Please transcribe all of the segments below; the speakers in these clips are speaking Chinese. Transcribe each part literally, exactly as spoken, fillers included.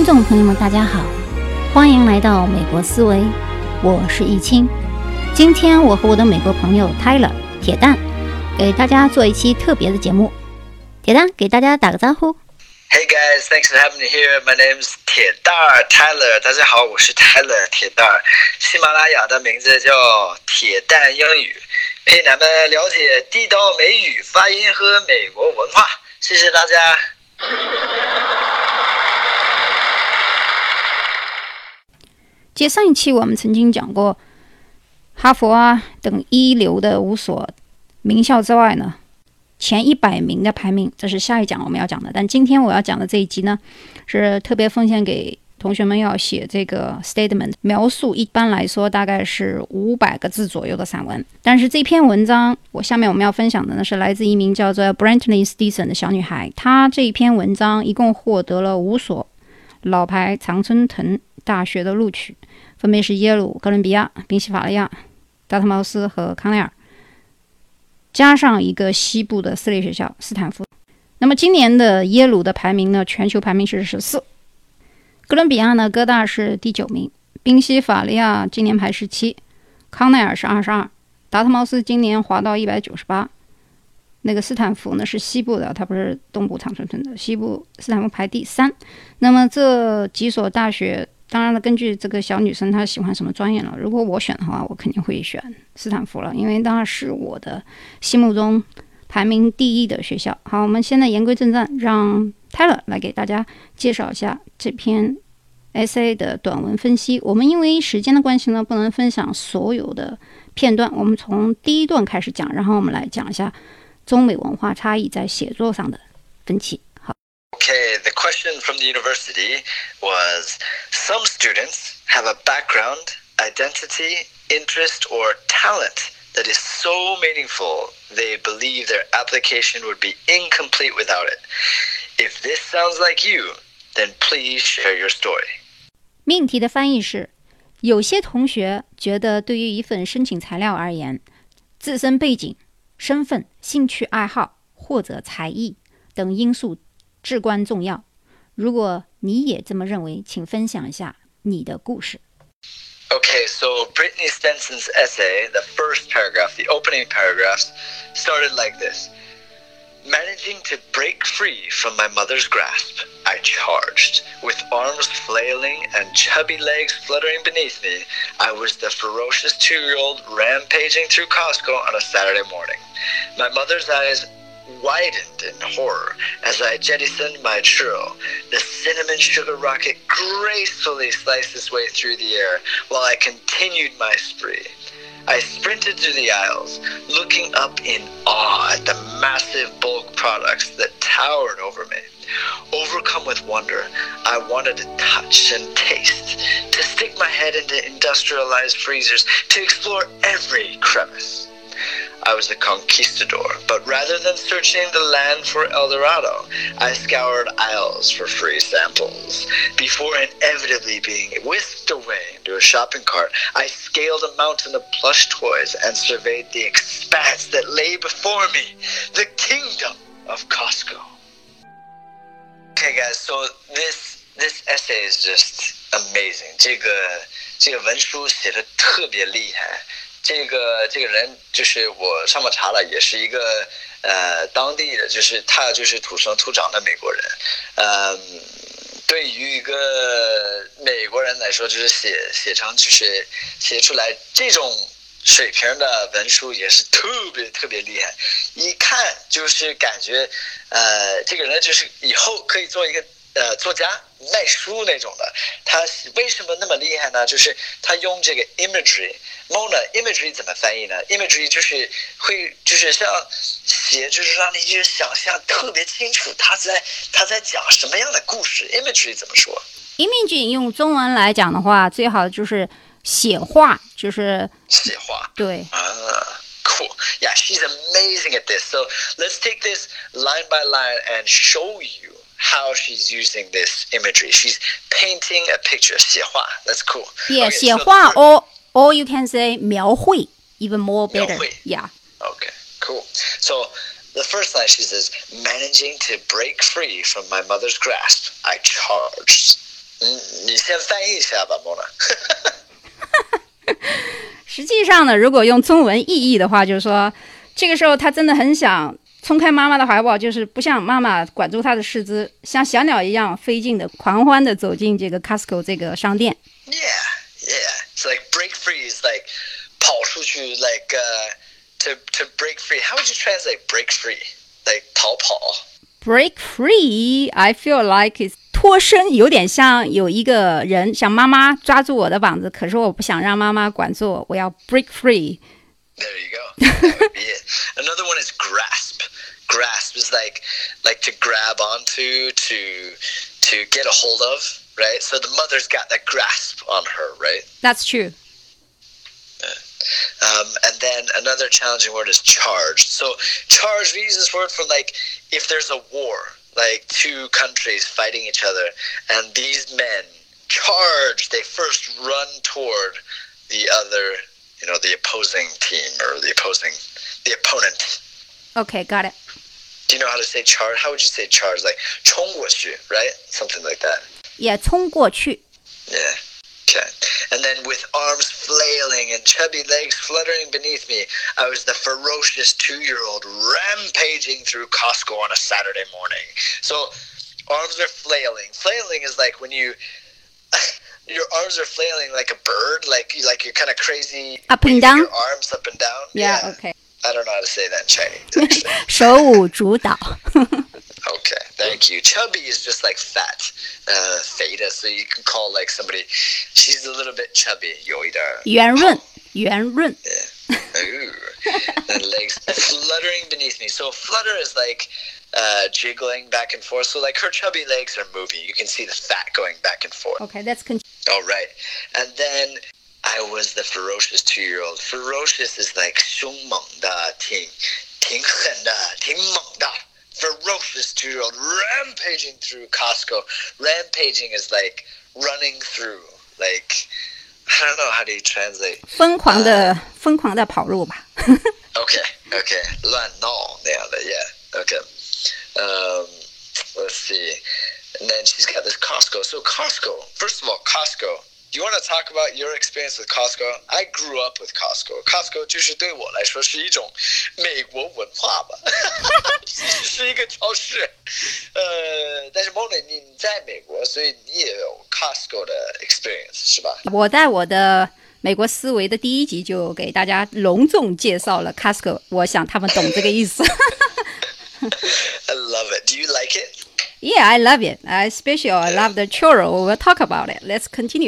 听众朋友们大家好，欢迎来到美国思维，我是易清。今天我和我的美国朋友 Tyler 铁蛋给大家做一期特别的节目。铁蛋给大家打个招呼。 Hey guys, thanks for having me here. My name's 铁蛋 Tyler. 大家好，我是 Tyler 铁蛋。喜马拉雅的名字叫铁蛋英语，陪咱们了解地道美语发音和美国文化。谢谢大家。 接上一期我们曾经讲过哈佛啊等一流的五所名校之外呢，前一百名的排名，这是下一讲我们要讲的。但今天我要讲的这一集呢，是特别奉献给同学们要写这个 statement， 描述一般来说大概是五百个字左右的散文。但是这篇文章，我下面我们要分享的呢，是来自一名叫做 Brantley Stinson 的小女孩。她这一篇文章一共获得了五所老牌常春藤大学的录取，分别是耶鲁、哥伦比亚、宾夕法尼亚、达特茅斯和康奈尔，加上一个西部的私立学校斯坦福。那么今年的耶鲁的排名呢，全球排名是十四，哥伦比亚呢，哥大是第九名，宾夕法尼亚今年排十七，康奈尔是二十二，达特茅斯今年滑到一百九十八。那个斯坦福呢是西部的，它不是东部常春藤的，西部斯坦福排第三。那么这几所大学，当然了，根据这个小女生她喜欢什么专业了，如果我选的话，我肯定会选斯坦福了，因为当然是我的心目中排名第一的学校。好，我们现在言归正传，让 Tyler 来给大家介绍一下这篇 essay 的短文分析。我们因为时间的关系呢，不能分享所有的片段，我们从第一段开始讲，然后我们来讲一下中美文化差异在写作上的分歧。好。 Okay, the question from the university was, some students have a background, identity, interest, or talent that is so meaningful they believe their application would be incomplete without it. If this sounds like you, then please share your story. 命题的翻译是：有些同学觉得对于一份申请材料而言，自身背景、身份、兴趣爱好或者才艺等因素至关重要。如果你也这么认为，请分享一下你的故事。 Okay, so Brittany Stenson's essay, the first paragraph, the opening paragraphs, started like this. Managing to break free from my mother's grasp, I charged. With arms flailing and chubby legs fluttering beneath me, I was the ferocious two-year-old rampaging through Costco on a Saturday morning. My mother's eyes widened in horror as I jettisoned my churro. The cinnamon sugar rocket gracefully sliced its way through the air while I continued my spree. I sprinted through the aisles, looking up in awe at the massive bulk products that towered over me. Overcome with wonder, I wanted to touch and taste, to stick my head into industrialized freezers, to explore every crevice. I was a conquistador, but rather than searching the land for El Dorado, I scoured aisles for free samples. Before inevitably being whisked away into a shopping cart, I scaled a mountain of plush toys and surveyed the expanse that lay before me, the kingdom of Costco. Okay guys, so this this essay is just amazing. 这个这个文书写得特别厉害。这个这个人就是我上网查了，也是一个呃当地的，就是他就是土生土长的美国人。嗯，对于一个美国人来说，就是写写成就是写出来这种水平的文书也是特别特别厉害，一看就是感觉呃这个人就是以后可以做一个呃作家卖书那种的。他为什么那么厉害呢？就是他用这个 imagery。Mona imagery 怎么翻译呢？ imagery 就是会就是像写，就是让你去想象特别清楚他在他在讲什么样的故事。imagery 怎么说？ image 用中文来讲的话，最好就是写画，就是写画。 对。 啊 Cool. Yeah, she's amazing at this. So let's take this line by line and show you how she's using this imagery. She's painting a picture. 写画 That's cool. Yeah, okay, 写画 so or, or you can say 描绘 even more better. 描绘 Yeah. Okay, cool. So the first line she says, managing to break free from my mother's grasp, I charged. 嗯，你先翻译一下吧 ，Mona 实际上呢，如果用中文意译的话，就是说，这个时候他真的很想冲开妈妈的怀抱，就是不像妈妈管住他的四肢，像小鸟一样飞进的、狂欢的走进这个 Costco 这个商店。 Yeah, yeah. It's like break free is like 跑出去 like uh, to to break free. How would you translate break free? Like 逃跑。 Break free, I feel like it's 脱身，有点像有一个人像妈妈抓住我的膀子，可是我不想让妈妈管住我，我要 break free. There you go. That would be it. Another one is grasp. Grasp is like like to grab onto, to to get a hold of, right? So the mother's got that grasp on her, right? That's true. Um, and then another challenging word is charged. So charged, we use this word for like if there's a war, like two countries fighting each other, and these men charge, they first run toward the other, you know, the opposing team or the opposing, the opponent. Okay, got it. Do you know how to say charge? How would you say charge? Like 冲过去, right? Something like that. Yeah, 冲过去. Yeah. Okay. And then with arms flailing and chubby legs fluttering beneath me, I was the ferocious two-year-old rampaging through Costco on a Saturday morning. So arms are flailing. Flailing is like when you, your arms are flailing like a bird, like, like you're kind of crazy. Up and down? Your arms up and down. Yeah, yeah. okay. I don't know how to say that in Chinese. 手舞足蹈. Okay, thank you. Chubby is just like fat, uh, feta. So you can call like somebody, she's a little bit chubby, 有一点圆润, 圆润. Yeah. Ooh. And legs fluttering beneath me. So flutter is like uh, jiggling back and forth. So like her chubby legs are moving. You can see the fat going back and forth. Okay, let's continue. All right. And then I was the ferocious two-year-old. Ferocious is like 凶猛的, 挺挺狠的, 挺猛的. Ferocious two-year-old rampaging through Costco. Rampaging is like running through. Like, I don't know how do you translate. 疯狂的, uh, 疯狂的跑路吧. Okay, okay. 乱闹那样的, yeah. Okay. Um, let's see. And then she's got this Costco. So Costco, first of all, Costco. Do you want to talk about your experience with Costco? I grew up with Costco. Costco 就是对我来说是一种美国文化吧，是一个超市。呃，但是 Mona 你在美国，所以你也有 Costco 的 experience 是吧？ 我在我的美国思维的第一集就给大家隆重介绍了 Costco， 我想他们懂这个意思。 I love it. Do you like it? Yeah, I love it. I especially I love the churro. We'll talk about it. Let's continue.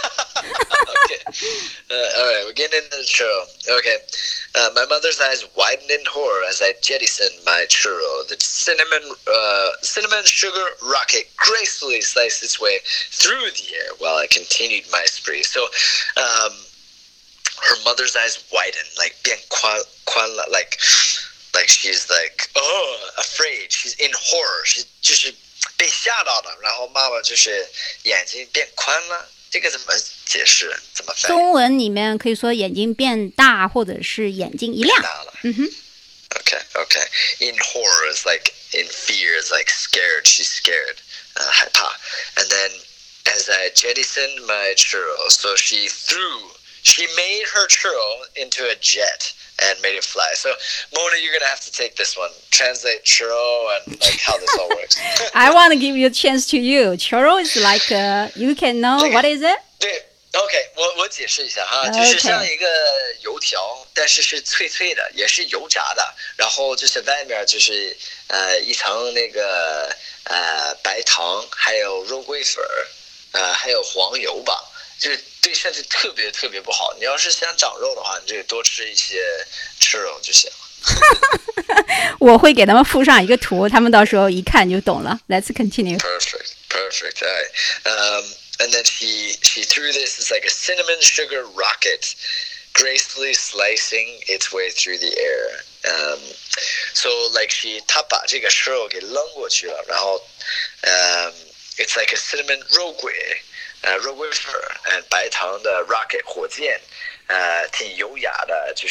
Okay. Uh, all right, we're getting into the churro. Okay. Uh, my mother's eyes widened in horror as I jettisoned my churro. The cinnamon, uh, cinnamon sugar rocket gracefully sliced its way through the air while I continued my spree. So, um, her mother's eyes widened, like 变宽宽了, like, like she's like, oh, afraid. She's in horror. She's 就是被吓到了，然后妈妈就是眼睛变宽了，这个怎么解释？怎么翻译？ 中文里面可以说眼睛变大，或者是眼睛一亮。 大了。 嗯哼。 Okay, okay. In horror is like in fear is like scared. She's scared. 呃，害怕。And then as I jettisoned my churro, so she threw, she made her churro into a jet and made it fly. So, Mona, you're going to have to take this one. Translate churro and like how this all works. I want to give you a chance to you. Churro is like, uh, you can know, what is it? 对 OK 我我解释一下哈，就是像一个油条，但是是脆脆的，也是油炸的，然后就是外面就是呃一层那个呃白糖，还有肉桂粉，呃还有黄油吧，就是对身体特别特别不好。你要是想长肉的话，你就多吃一些吃肉就行了。 我会给他们附上一个图，他们到时候一看就懂了。Let's continue. Perfect, perfect. All right. Um, and then she she threw this as like a cinnamon sugar rocket, gracefully slicing its way through the air. Um, so like she 她把这个肉给扔过去了，然后 um, it's like a cinnamon 肉桂，呃肉桂粉，呃白糖的 rocket 火箭，呃挺优雅的，就是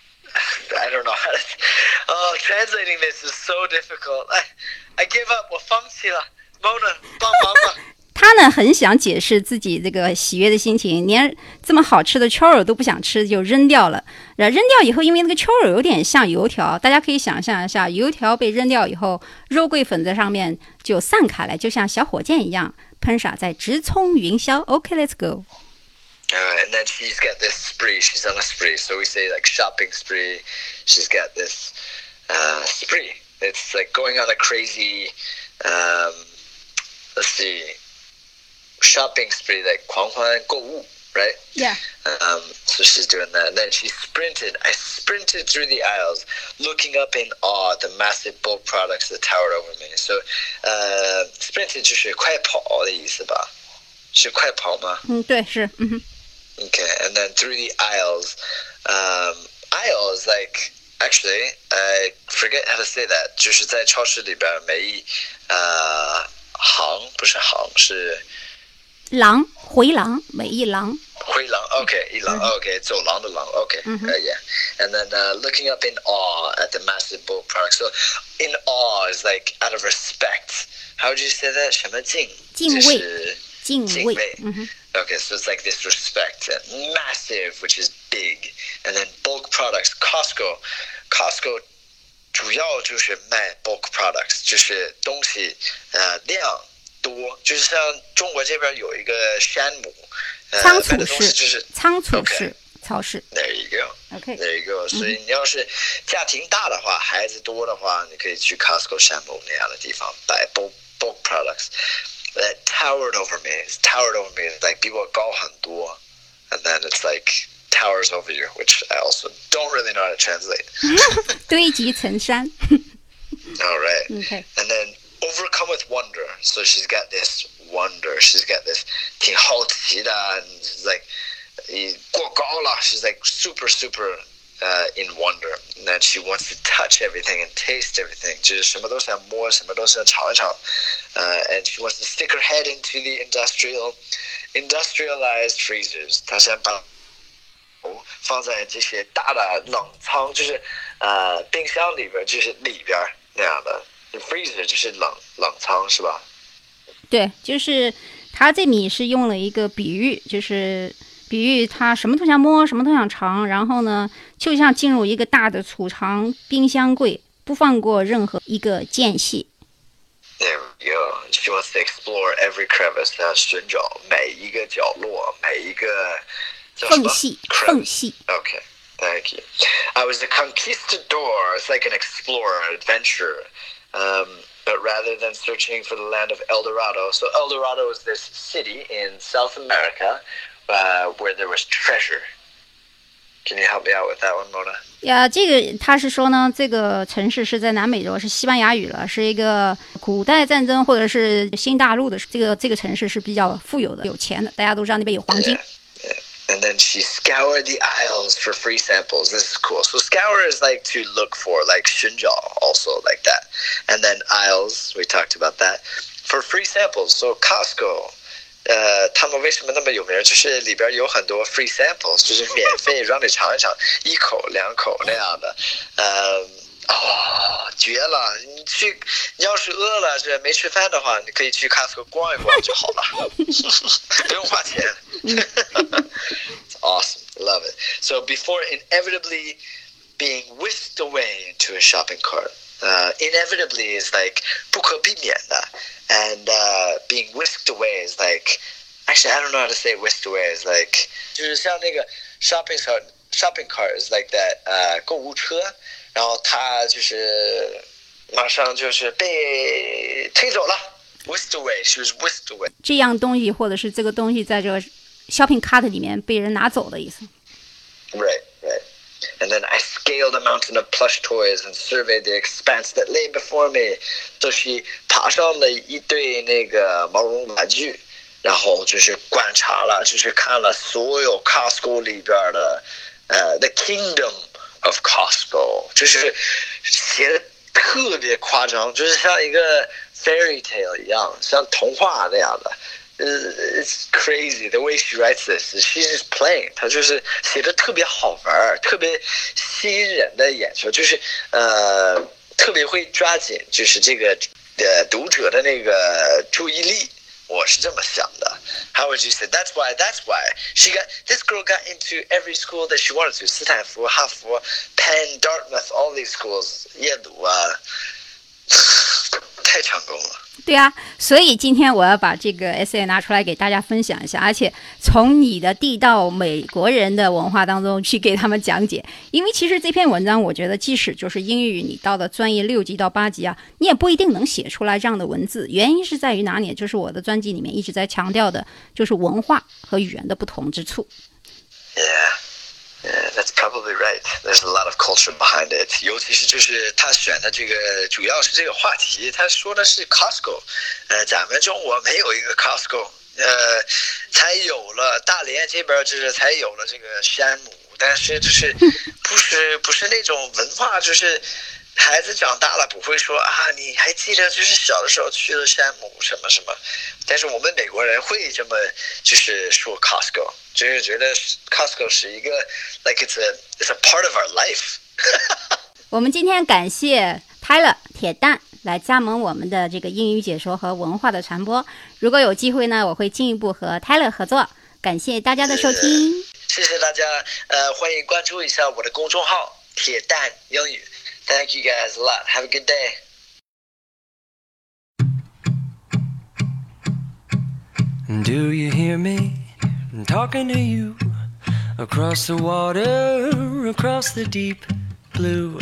。I don't know how to. Oh, translating this is so difficult. I, I give up. 我放弃了。Mona, 帮忙吧。 他呢很想解释自己这个喜悦的心情，连这么好吃的 churro 都不想吃就扔掉了。然后扔掉以后，因为那个 churro 有点像油条，大家可以想象一下，油条被扔掉以后，肉桂粉在上面就散开来，就像小火箭一样喷洒在直冲云霄。OK, let's go. Uh, and then she's got this spree. She's on a spree. So we say like shopping spree. She's got this uh, spree. It's like going on a crazy, um, let's see, shopping spree, like 狂欢购物, right? Yeah. Um, so she's doing that. And then she sprinted. I sprinted through the aisles, looking up in awe at the massive bulk products that towered over me. So, uh, sprinted 就是快跑的意思吧？是快跑吗？ 嗯，对，是，嗯哼。 Okay, and then through the aisles. Um, aisles, like, actually, I forget how to say that. 就是在超市里边每一呃行不是行是廊回廊每一廊回廊 okay 一廊 okay 走廊的廊 okay mm-hmm. uh, yeah and then uh, looking up in awe at the massive bulk products. So in awe is like out of respect. How would you say that? 什么敬敬畏敬畏 mm-hmm. Okay, so it's like this respect. Massive, which is big. And then bulk products. Costco. Costco 主要就是卖 bulk products, 就是东西呃量多，就是像中国这边有一个山姆，呃， 仓储卖的东西就是仓储式超市。 There you go. Okay. There you go. 所以你要是家庭大的话，孩子多的话，你可以去 Costco 山姆那样的地方买 bulk bulk products. That towered over me. It's towered over me. It's like 比我高很多 and then it's like towers over you, which I also don't really know how to translate. 堆积成山。 All right. Okay. And then overcome with wonder. So she's got this wonder. She's got this 挺好奇的 and she's like 过高了 she's like super super uh, in wonder. And then she wants to touch everything and taste everything. 就是什么都想摸，什么都想尝一尝。Uh, and she wants to stick her head into the industrial, industrialized freezers. 她想把放在这些大的冷仓，就是呃冰箱里边，就是里边那样的。freezer 就是冷冷仓是吧？ 对，就是他这里是用了一个比喻，就是比喻他什么都想摸，什么都想尝，然后呢，就像进入一个大的储藏冰箱柜，不放过任何一个间隙。 There we go. She wants to explore every crevice. 她寻找每一个角落，每一个缝隙，缝隙。 Okay, thank you. I was a conquistador. It's like an explorer, adventurer. Um, but rather than searching for the land of El Dorado, so El Dorado is this city in South America uh, where there was treasure. Can you help me out with that one, Mona? 呀，这个他是说呢，这个城市是在南美洲，是西班牙语了，是一个古代战争或者是新大陆的这个这个城市是比较富有的、有钱的，大家都知道那边有黄金。 Yeah, yeah. And then she scoured the aisles for free samples. This is cool. So scour is like to look for, like 寻找 also like that. And then aisles, we talked about that, for free samples. So Costco, 呃，他们为什么那么有名？就是里边有很多 free samples， 就是免费让你尝一尝，一口两口那样的。呃，哦，绝了！你去，你要是饿了，这没吃饭的话，你可以去 Costco 逛一逛就好了，不用花钱。It's awesome, love it. So before inevitably being whisked away into a shopping cart, uh, inevitably is like 不可避免的。And uh, being whisked away is like, actually, I don't know how to say whisked away. Is like, 就是像那个 shopping cart, shopping cart is like that. 呃，购物车，然后它就是马上就是被推走了 ，whisked away. She was whisked away. 这样东西或者是这个东西在这个 shopping cart 里面被人拿走的意思。 Right, right. And then I scaled a mountain of plush toys and surveyed the expanse that lay before me. 就是爬上了一堆那个毛绒玩具，然后就是观察了，就是看了所有 Costco 里边的，呃 ，The Kingdom of Costco， 就是写的特别夸张，就是像一个 fairy tale 一样，像童话那样的。It's crazy the way she writes this. She's just playing. 她就是写的特别好玩，特别吸引人的眼球，就是呃特别会抓紧，就是这个呃读者的那个注意力。 我是这么想的。How would you say? That's why. That's why she got this girl got into every school that she wanted to. 斯坦福、哈佛、Penn, Dartmouth, all these schools. 耶鲁啊，太成功了。 对啊，所以今天我要把这个 essay 拿出来给大家分享一下，而且从你的地道美国人的文化当中去给他们讲解。因为其实这篇文章，我觉得即使就是英语你到了专业六级到八级啊，你也不一定能写出来这样的文字。原因是在于哪里？就是我的专辑里面一直在强调的，就是文化和语言的不同之处。 Yeah.Yeah, that's probably right. There's a lot of culture behind it. 尤其是就是他选的这个，主要是这个话题，他说的是 Costco。呃，咱们中国没有一个 Costco， 呃，才有了大连这边就是才有了这个山姆，但是就是不是不是那种文化，就是孩子长大了不会说啊，你还记得就是小的时候去了山姆什么什么，但是我们美国人会这么就是说 Costco。就是觉得 Costco 是一个 like it's a it's a part of our life 我们今天感谢 Tyler 铁蛋来加盟我们的这个英语解说和文化的传播。如果有机会呢，我会进一步和 Tyler 合作。感谢大家的收听， 谢謝大家。呃，歡迎關注一下我的公眾號鐵蛋英語。Thank you guys a lot. Have a good day. Do you hear me?I'm talking to you across the water, across the deep blue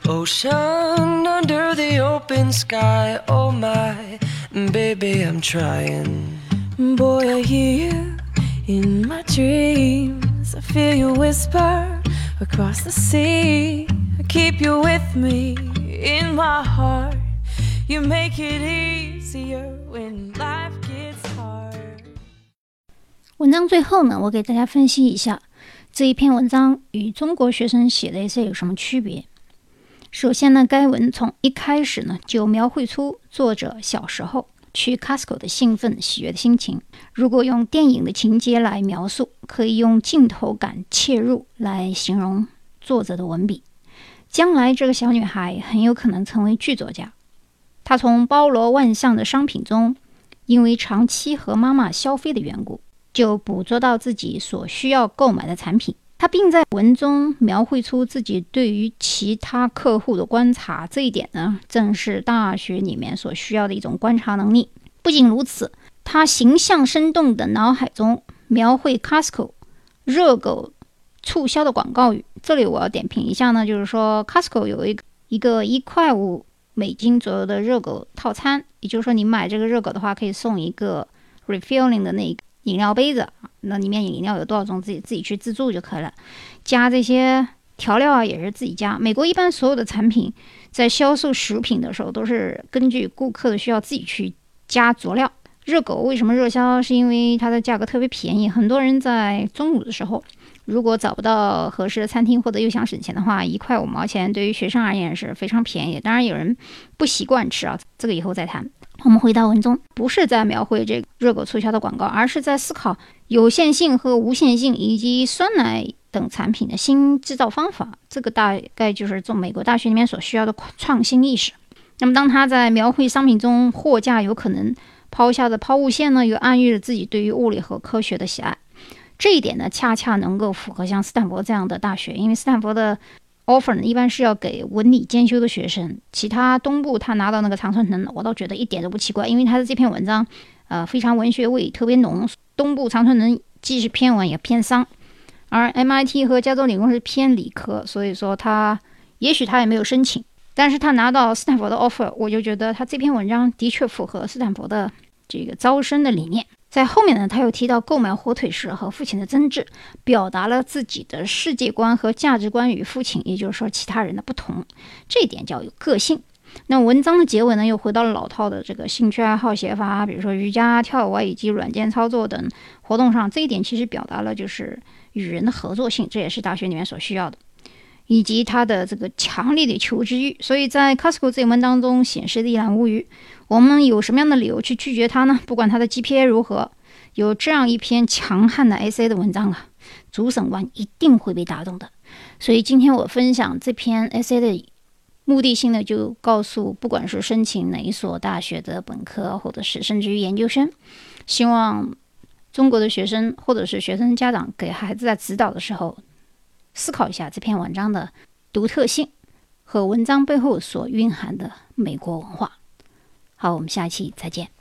ocean, under the open sky. Oh my, baby, I'm trying. Boy, I hear you in my dreams. I feel you whisper across the sea. I keep you with me in my heart. You make it easier when life gets hard. 文章最后呢，我给大家分析一下这一篇文章与中国学生写的 essay 有什么区别。首先呢，该文从一开始呢就描绘出作者小时候去 Costco 的兴奋喜悦的心情。如果用电影的情节来描述，可以用镜头感切入来形容作者的文笔。将来这个小女孩很有可能成为剧作家。她从包罗万象的商品中，因为长期和妈妈消费的缘故，就捕捉到自己所需要购买的产品。他并在文中描绘出自己对于其他客户的观察，这一点呢，正是大学里面所需要的一种观察能力。不仅如此，他形象生动的脑海中描绘 Costco 热狗促销的广告语。这里我要点评一下呢，就是说 Costco 有一个一个一块五美金左右的热狗套餐，也就是说你买这个热狗的话，可以送一个 refilling 的那个饮料杯子，那里面饮料有多少种自己自己去自助就可以了，加这些调料啊也是自己加。美国一般所有的产品在销售食品的时候都是根据顾客的需要自己去加佐料。热狗为什么热销？是因为它的价格特别便宜，很多人在中午的时候如果找不到合适的餐厅或者又想省钱的话，一块五毛钱对于学生而言是非常便宜的。当然有人不习惯吃啊，这个以后再谈。我们回到文中，不是在描绘这个热狗促销的广告，而是在思考有限性和无限性以及酸奶等产品的新制造方法。这个大概就是从美国大学里面所需要的创新意识。那么当他在描绘商品中货架有可能抛下的抛物线呢，又暗喻了自己对于物理和科学的喜爱。这一点呢，恰恰能够符合像斯坦福这样的大学，因为斯坦福的 offer 呢，一般是要给文理兼修的学生。其他东部他拿到那个常春藤，我倒觉得一点都不奇怪，因为他的这篇文章，呃，非常文学味特别浓。东部常春藤既是偏文也偏商，而 M I T 和加州理工是偏理科，所以说他也许他也没有申请，但是他拿到斯坦福的 offer， 我就觉得他这篇文章的确符合斯坦福的这个招生的理念。在后面呢，他又提到购买火腿时和父亲的争执，表达了自己的世界观和价值观与父亲，也就是说其他人的不同，这一点叫有个性。那文章的结尾呢，又回到了老套的这个兴趣爱好写法，比如说瑜伽、跳舞啊，以及软件操作等活动上。这一点其实表达了就是与人的合作性，这也是大学里面所需要的，以及他的这个强烈的求知欲。所以在 Costco 这一文当中显示的一览无余。我们有什么样的理由去拒绝他呢？不管他的 G P A 如何，有这样一篇强悍的 essay 的文章啊，主审官一定会被打动的。所以今天我分享这篇 essay 的目的性呢，就告诉不管是申请哪一所大学的本科，或者是甚至于研究生， 希望中国的学生或者是学生家长给孩子在指导的时候，思考一下这篇文章的独特性和文章背后所蕴含的美国文化。好，我们下一期再见。